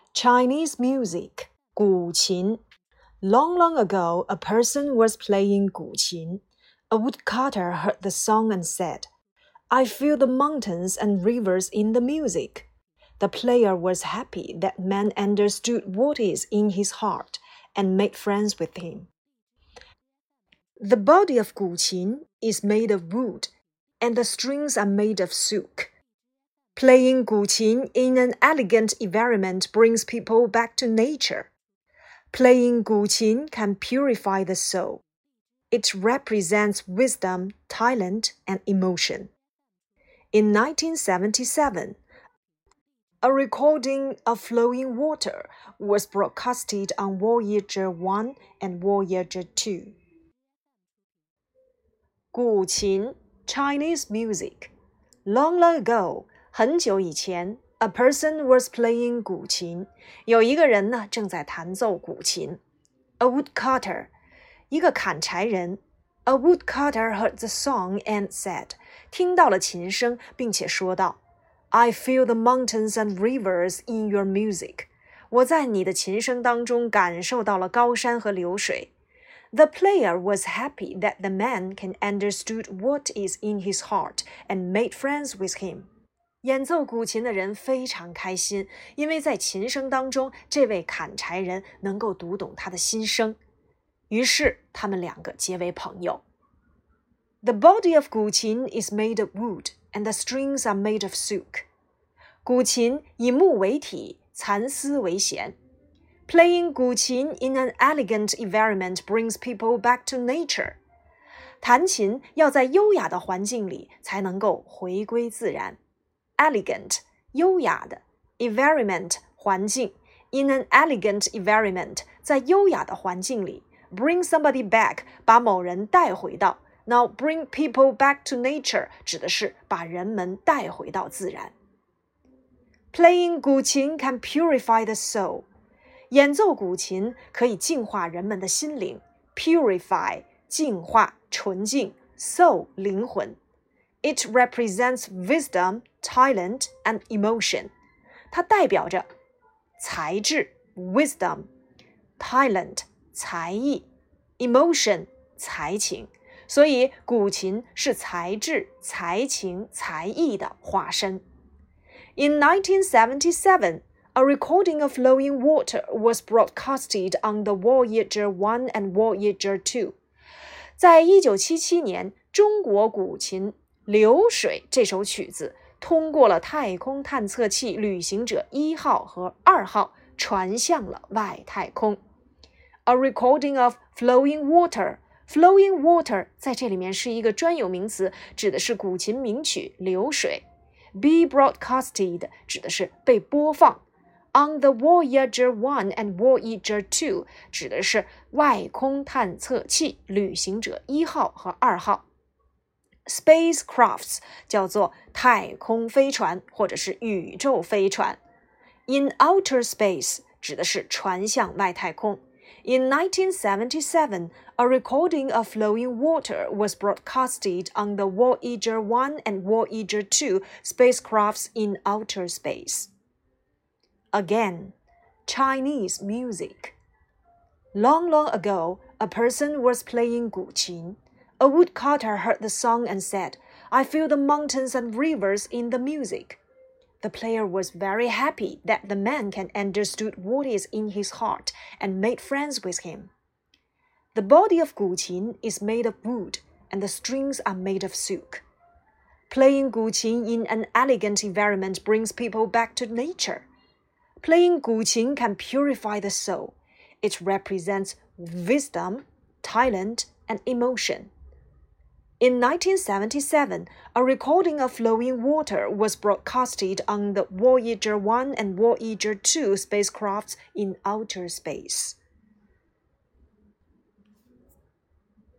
Chinese music, 古琴. Long, long ago, a person was playing 古琴. A woodcutter heard the song and said, I feel the mountains and rivers in the music. The player was happy that man understood what is in his heart and made friends with him. The body of 古琴 is made of wood, and the strings are made of silk.Playing 古琴 in an elegant environment brings people back to nature. Playing 古琴 can purify the soul. It represents wisdom, talent, and emotion. In 1977, a recording of Flowing Water was broadcasted on Voyager 1 and Voyager 2. 古琴 Chinese music. Long, long ago, 很久以前 a person was playing 古琴。有一个人呢，正在弹奏古琴。A woodcutter， 一个砍柴人。A woodcutter heard the song and said， 听到了琴声，并且说道 I feel the mountains and rivers in your music。 我在你的琴声当中感受到了高山和流水。The player was happy that the man can understood what is in his heart and made friends with him. 演奏古琴的人非常开心，因为在琴声当中，这位砍柴人能够读懂他的心声。于是，他们两个结为朋友。The body of 古琴 is made of wood, and the strings are made of silk. 古琴以木为体，蚕丝为弦。Playing 古琴 in an elegant environment brings people back to nature. 弹琴要在优雅的环境里才能够回归自然。Elegant 优雅的 environment 环境 in an elegant environment 在优雅的环境里 bring somebody back 把某人带回到 Now bring people back to nature 指的是把人们带回到自然。Playing 古琴 can purify the soul. 演奏古琴可以净化人们的心灵 Purify 净化纯净 soul 灵魂。It represents wisdom, talent, and emotion. 它代表着才智 wisdom, talent 才艺 emotion 才情。所以古琴是才智、才情、才艺的化身。In 1977, a recording of Flowing Water was broadcasted on the Voyager 1 and Voyager 2. 在1977年，中国古琴《流水》这首曲子通过了太空探测器旅行者1号和2号，传向了外太空。A recording of Flowing Water。Flowing Water 在这里面是一个专有名词，指的是古琴名曲《流水》。Be broadcasted 指的是被播放。On the Voyager 1 and Voyager 2 指的是外空探测器旅行者1号和2号。Spacecrafts 叫做太空飞船或者是宇宙飞船。In outer space 指的是传向外太空。In 1977, a recording of Flowing Water was broadcasted on the Voyager 1 and Voyager 2 spacecrafts in outer space. Again, Chinese music. Long, long ago, a person was playing 古琴. A woodcutter heard the song and said, I feel the mountains and rivers in the music. The player was very happy that the man can understood what is in his heart and made friends with him. The body of 古琴 is made of wood, and the strings are made of silk. Playing 古琴 in an elegant environment brings people back to nature. Playing 古琴 can purify the soul. It represents wisdom, talent, and emotion. In 1977, a recording of Flowing Water was broadcasted on the Voyager 1 and Voyager 2 spacecrafts in outer space.